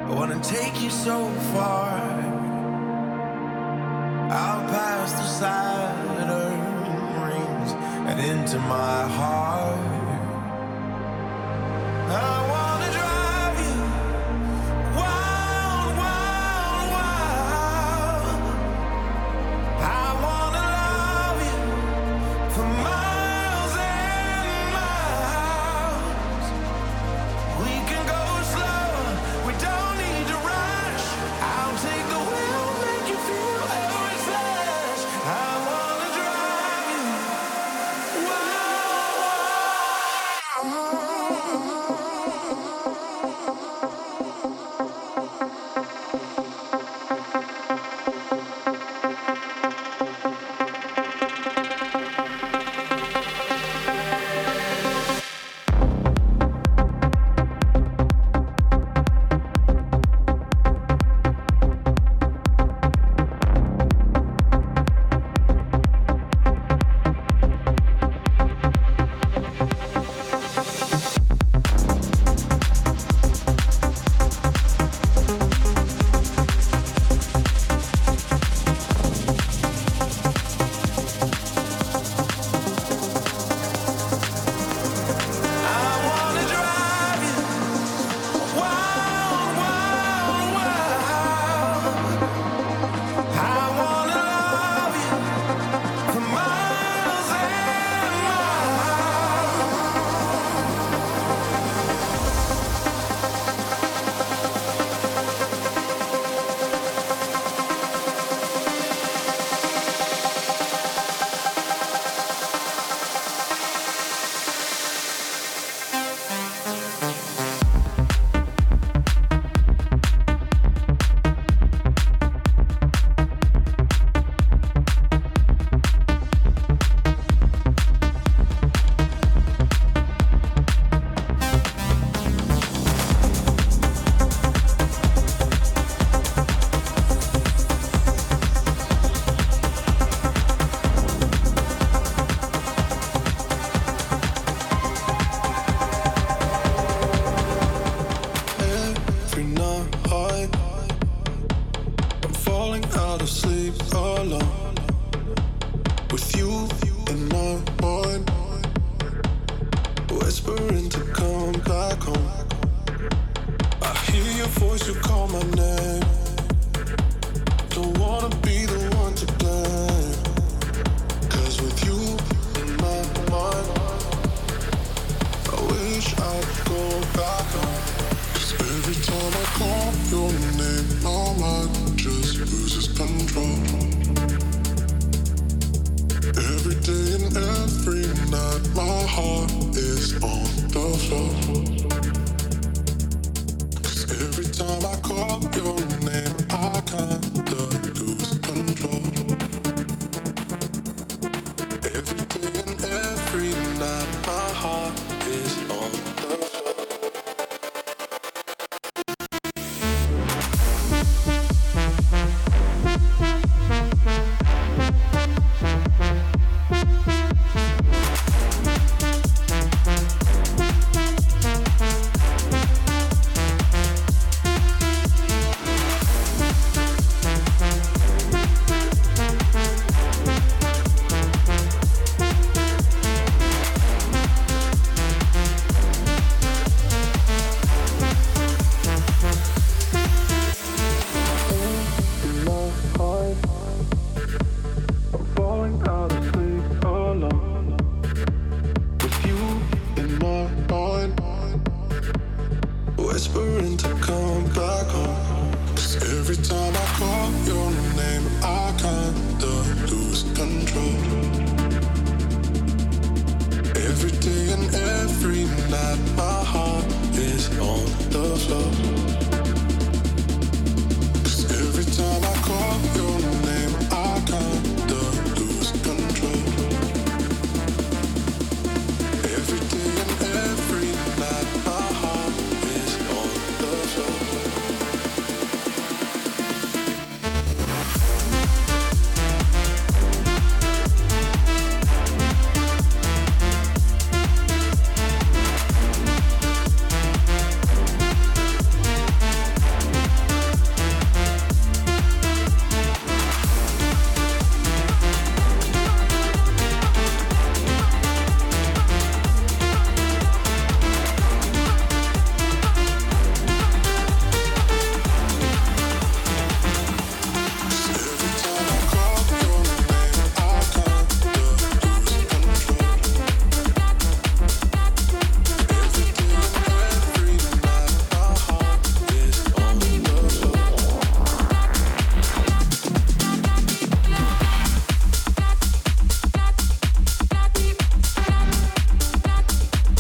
I wanna take you so far out past the Saturn rings and into my heart. I wanna drive you wild, wild, wild. I wanna love you for miles and miles. We can go slow, we don't need to rush. I'll take the wheel, make you feel every flash. I wanna drive you wild, wild, wild. I wanna love you for miles and every night I'm falling out of sleep alone with you in my mind, whispering to come back home. I hear your voice, you call my name. Don't wanna be the one to blame, 'cause with you in my mind, I wish I'd go back home. 'Cause every time I call your name, my mind just loses control. Every day and every night, my heart is on the floor. 'Cause every time I call your name, I kinda lose control.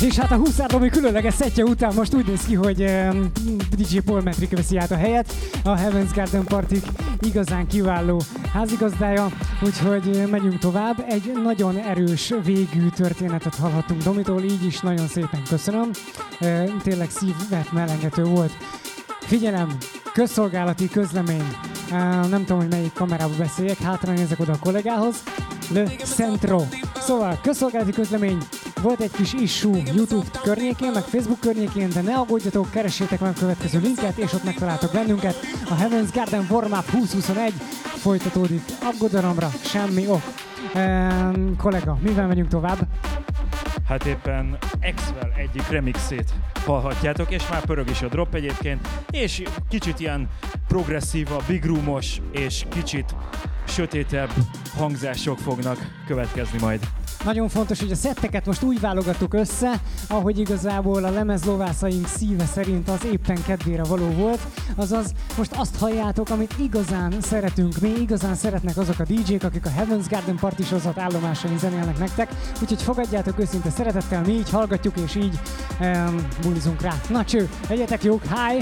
És hát a Huszárdomi különleges szettje után most úgy néz ki, hogy DJ Paul Metric veszi át a helyet. A Heaven's Garden Party igazán kiváló házigazdája, úgyhogy megyünk tovább. Egy nagyon erős végű történetet hallhattunk Domitól, így is nagyon szépen köszönöm. Tényleg szívet melengető volt. Figyelem, közszolgálati közlemény. Nem tudom, hogy melyik kamerába beszéljek, hátra nézek oda a kollégához. Le Centro. Szóval, közszolgálati közlemény. Volt egy kis issue YouTube környékén, meg Facebook környékén, de ne aggódjatok, keressétek meg a következő linket, és ott megtaláltok bennünket. A Heaven's Garden Warm-Up 2021 folytatódik. Aggodalomra semmi ok. Kollega, mivel megyünk tovább? Hát éppen Axwell egyik remixét hallhatjátok, és már pörög is a drop egyébként, és kicsit ilyen progresszíva, big roomos, és kicsit sötétebb hangzások fognak következni majd. Nagyon fontos, hogy a szetteket most úgy válogattuk össze, ahogy igazából a lemezlovászaink szíve szerint az éppen kedvére való volt. Azaz most azt halljátok, amit igazán szeretünk mi, igazán szeretnek azok a DJ-k, akik a Heaven's Garden Party sorozat állomásain zenélnek nektek. Úgyhogy fogadjátok őszinte szeretettel, mi így hallgatjuk és így bulizunk rá. Na cső, legyetek jók, hi!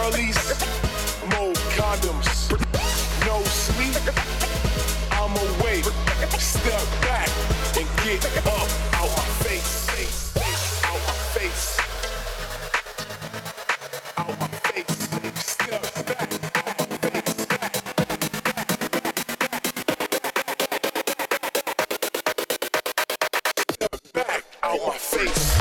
girlies, more condoms, no sleep, I'm awake, step back and get up out my face, out my face, out my face, step back. Out my face.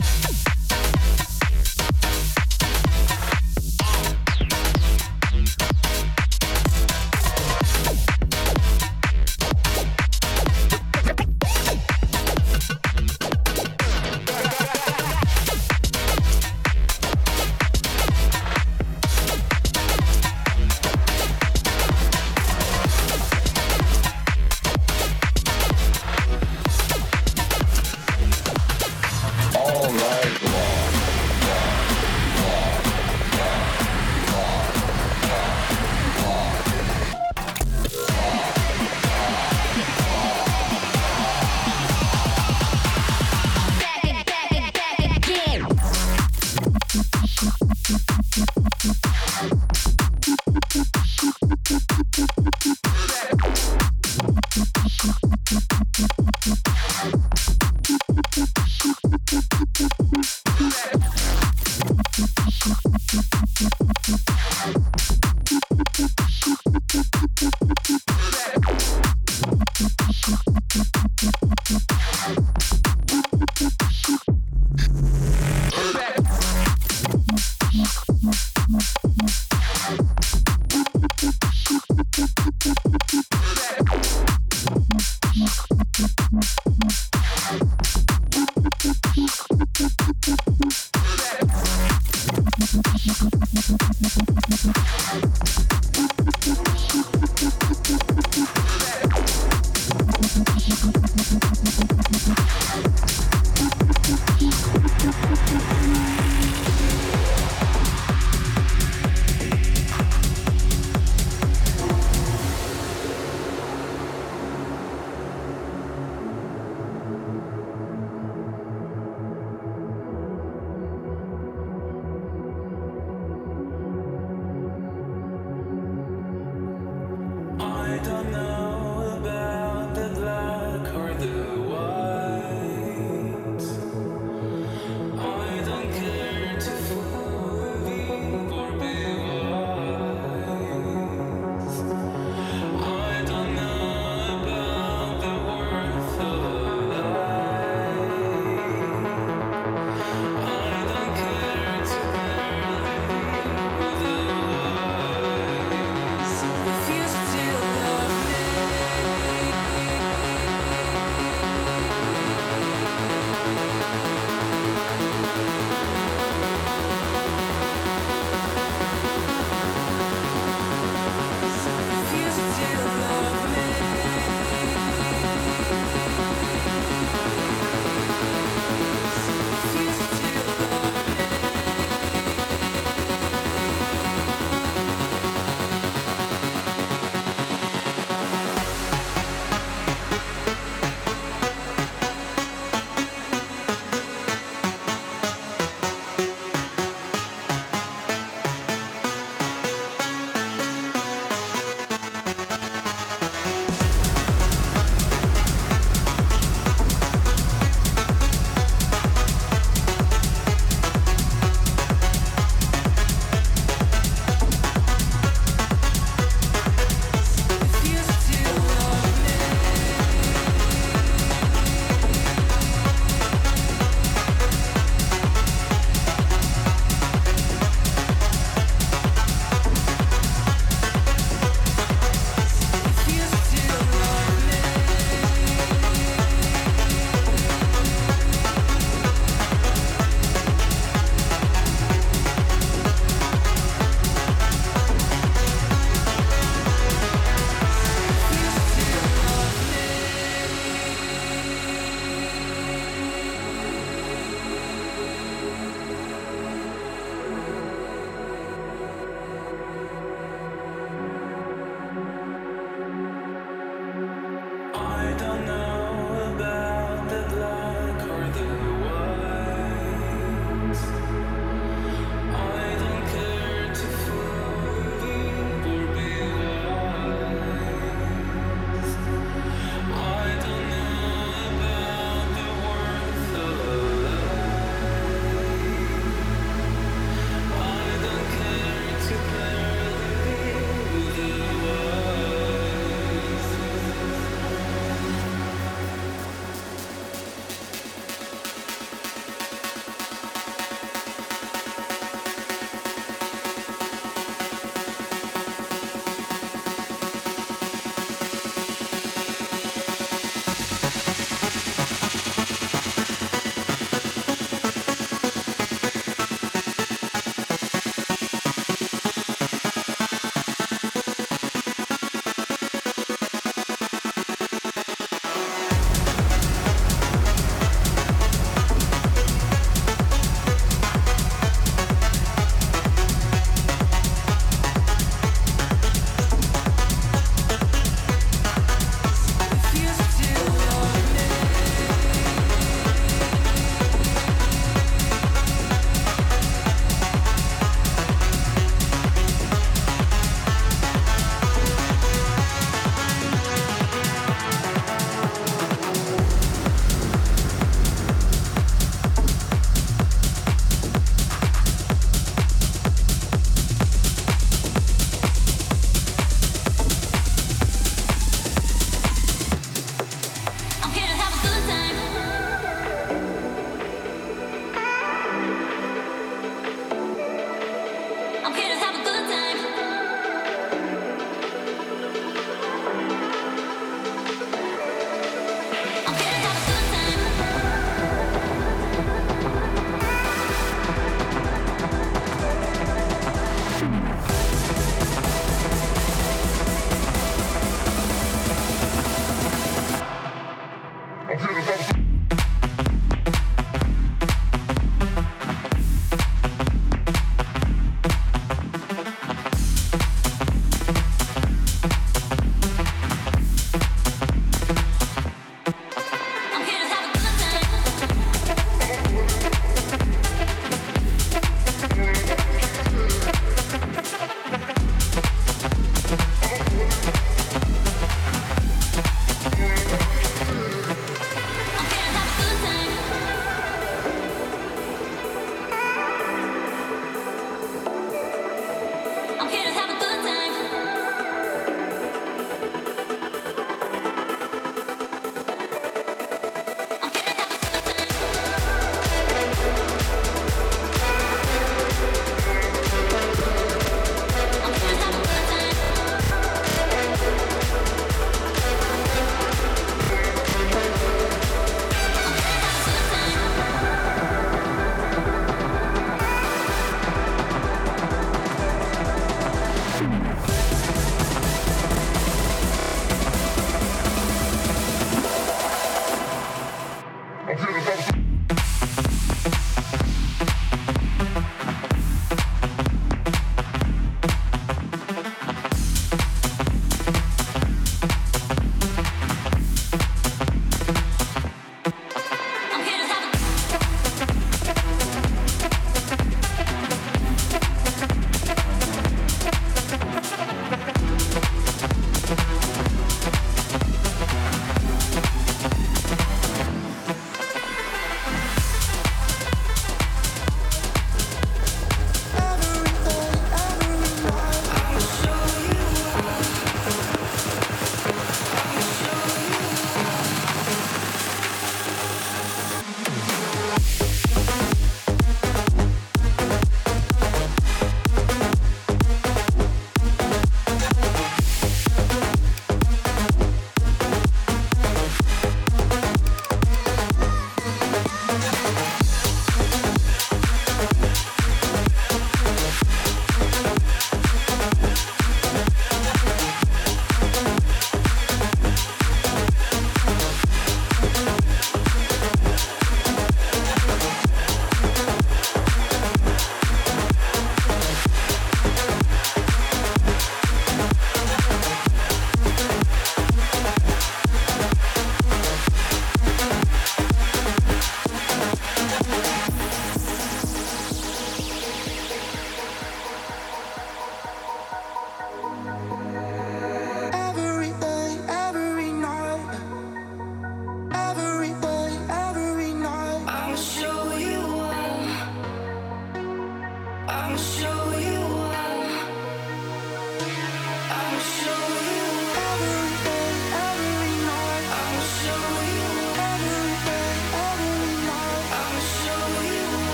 All night.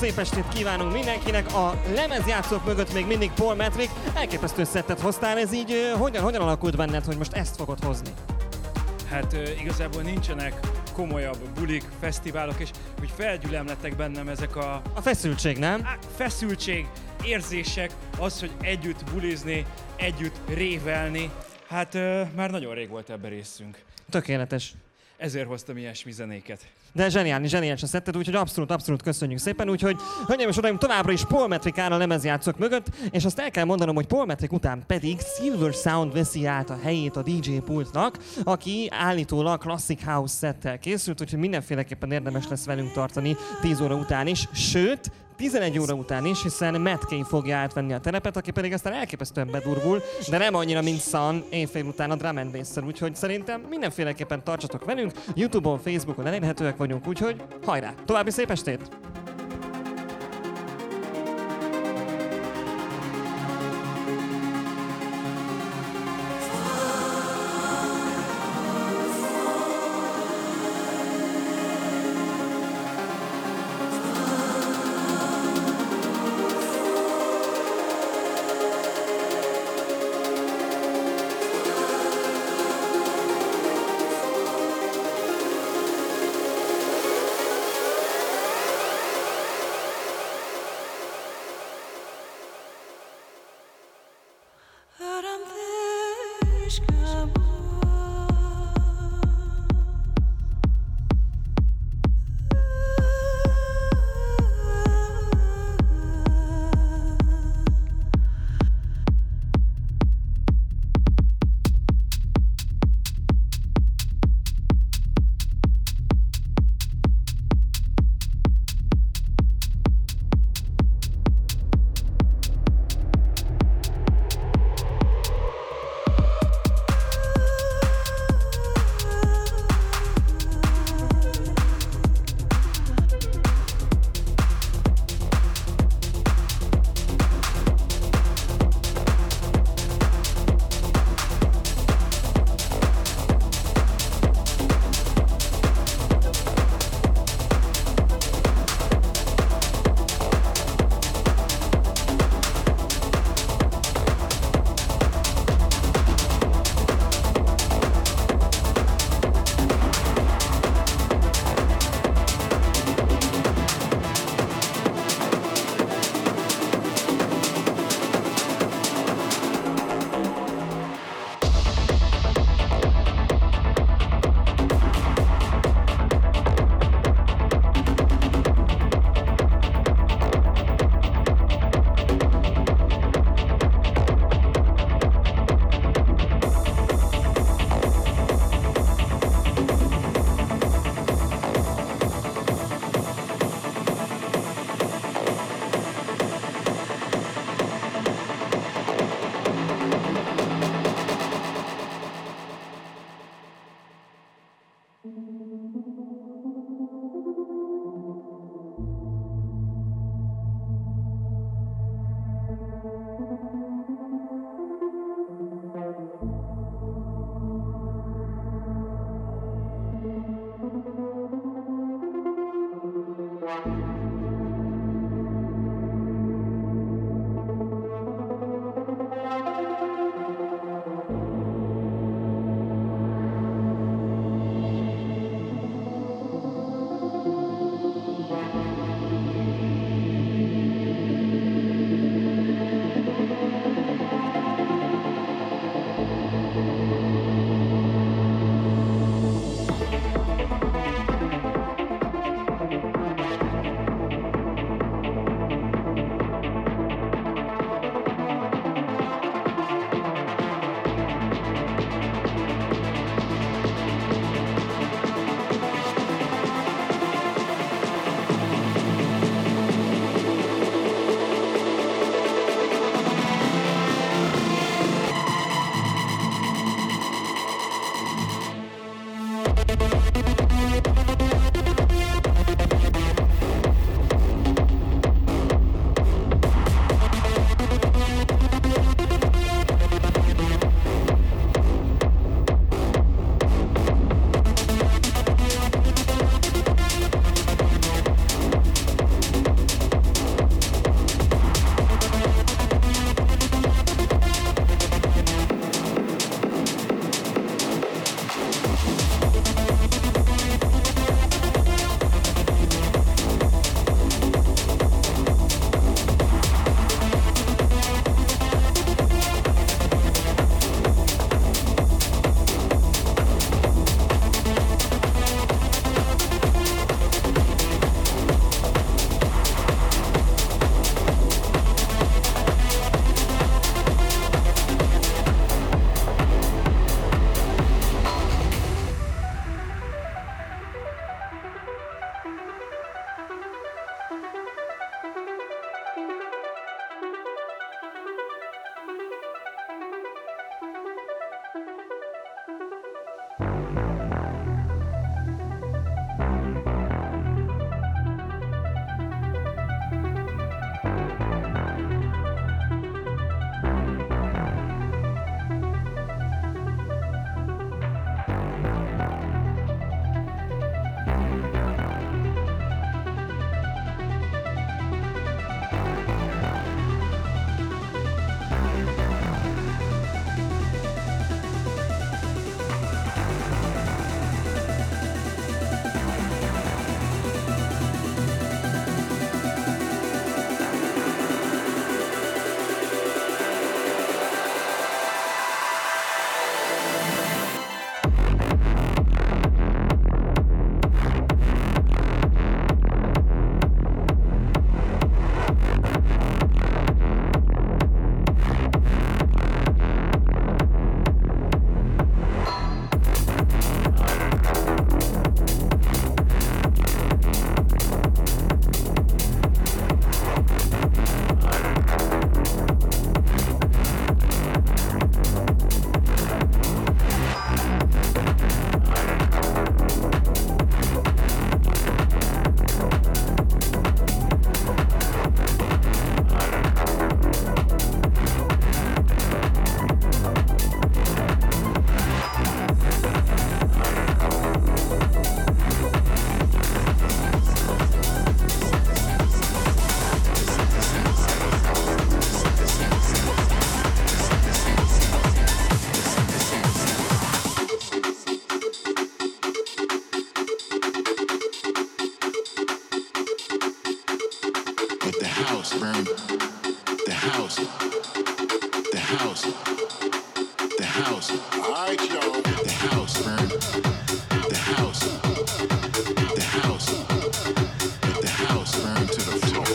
szép estét kívánunk mindenkinek. A lemezjátszók mögött még mindig Paul Metric. Elképesztő szettet hoztál, ez így hogyan alakult benned, hogy most ezt fogod hozni? Hát igazából nincsenek komolyabb bulik, fesztiválok, és úgy felgyülemlettek bennem ezek a feszültség, nem? Feszültség, érzések, az, hogy együtt bulizni, együtt révelni. Hát már nagyon rég volt ebben részünk. Tökéletes. Ezért hoztam ilyesmi zenéket. De zseniális a szetted, úgyhogy abszolút köszönjük szépen. Úgyhogy, hölgyeim és uraim, továbbra is Paul Metric áll a lemezjátszók mögött, és azt el kell mondanom, hogy Paul Metric után pedig Silver Sound veszi át a helyét a DJ pultnak, aki állítólag Classic House szettel készült, úgyhogy mindenféleképpen érdemes lesz velünk tartani 10 óra után is, sőt, 11 óra után is, hiszen Matt Kay fogja átvenni a terepet, aki pedig aztán elképesztően bedurvul, de nem annyira, mint Sun éjfél után a drum and bass-szel, úgyhogy szerintem mindenféleképpen tartsatok velünk, YouTube-on, Facebookon elérhetőek vagyunk, úgyhogy hajrá! További szép estét! house burn. The house. The house. The house. All right, y'all. The house burn. The house. The house. Let the house burn to the floor.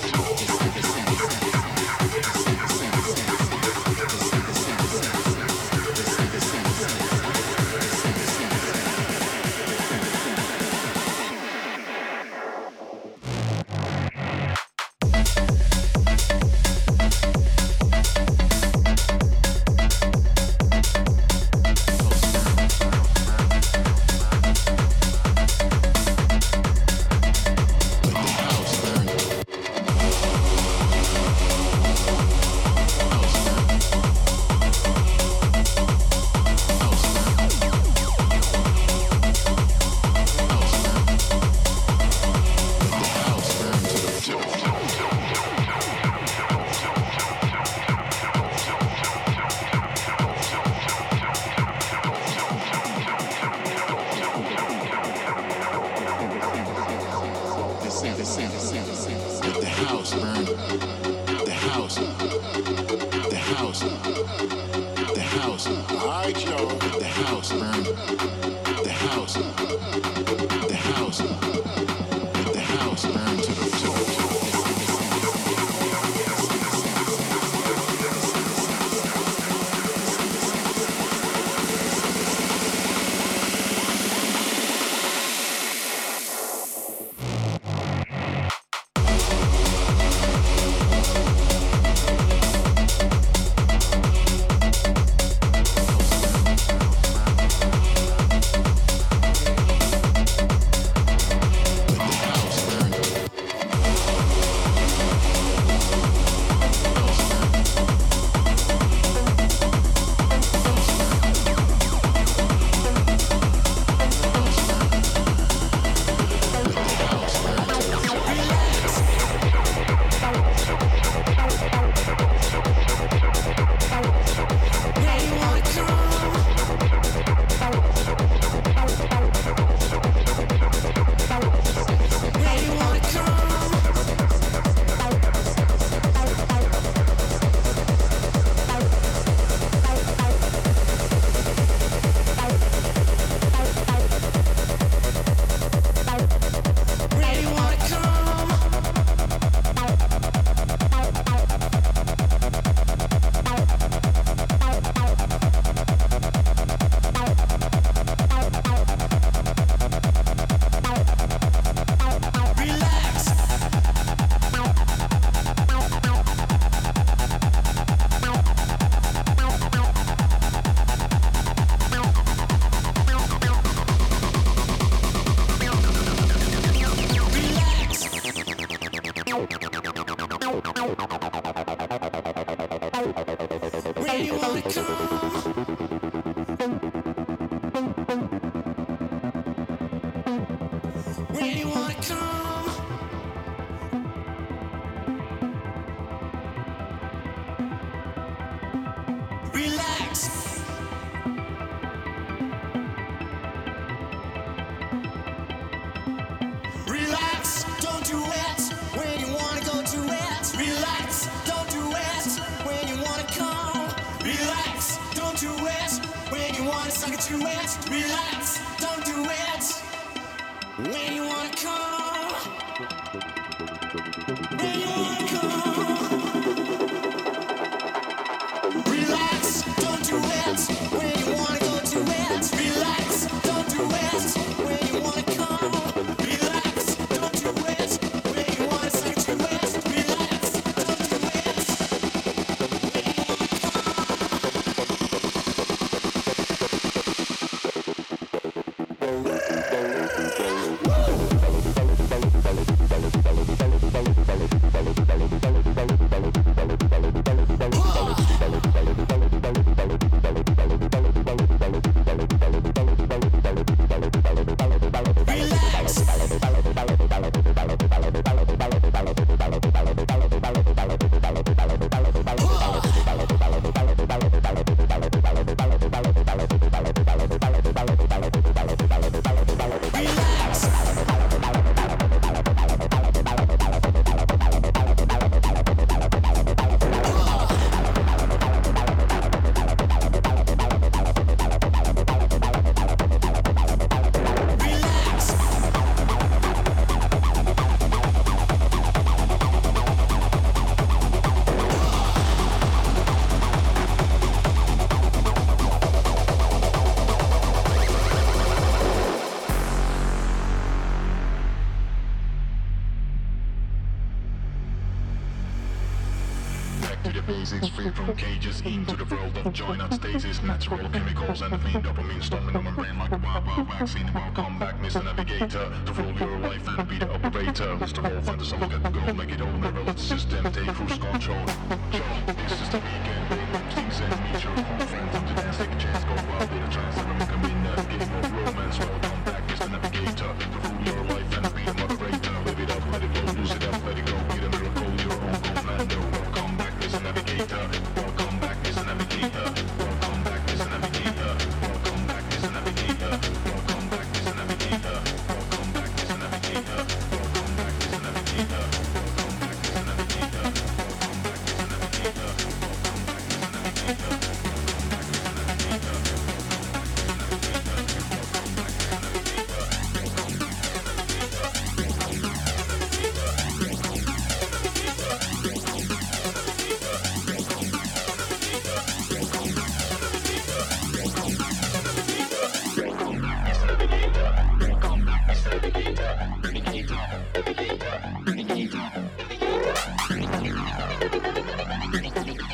back to the basics, free from cages, into the world of joy, not stasis. Natural chemicals and the fiend dopamine storming on my brain like a wild vaccine. Welcome back, Mr. Navigator, to rule your life and be the operator. Mr. Wolf and the song get the goal, make it all. Never let the system take cruise control. This is the weekend, things and meet your old friends on the dance, take a chance, go out with a chance. Never make a in that game of romance. Welcome back, Mr. Navigator, to rule your life and be the moderator. Live it up, let it go, lose it up, let it go, be the miracle, your own commando. Welcome back, Mr. Navigator. Welcome back, Mr. Navigator. Welcome back, Mr. Navigator. Welcome back, Mr. Navigator. Welcome back, Mr. Navigator. Welcome back, Mr. Navigator. Welcome back, Mr. Navigator. Welcome back, Mr. Navigator. Welcome back, Mr. Navigator. Welcome back, Mr. Navigator. Navigator.